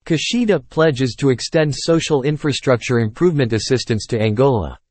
Kushida pledges to extend social infrastructure improvement assistance to Angola.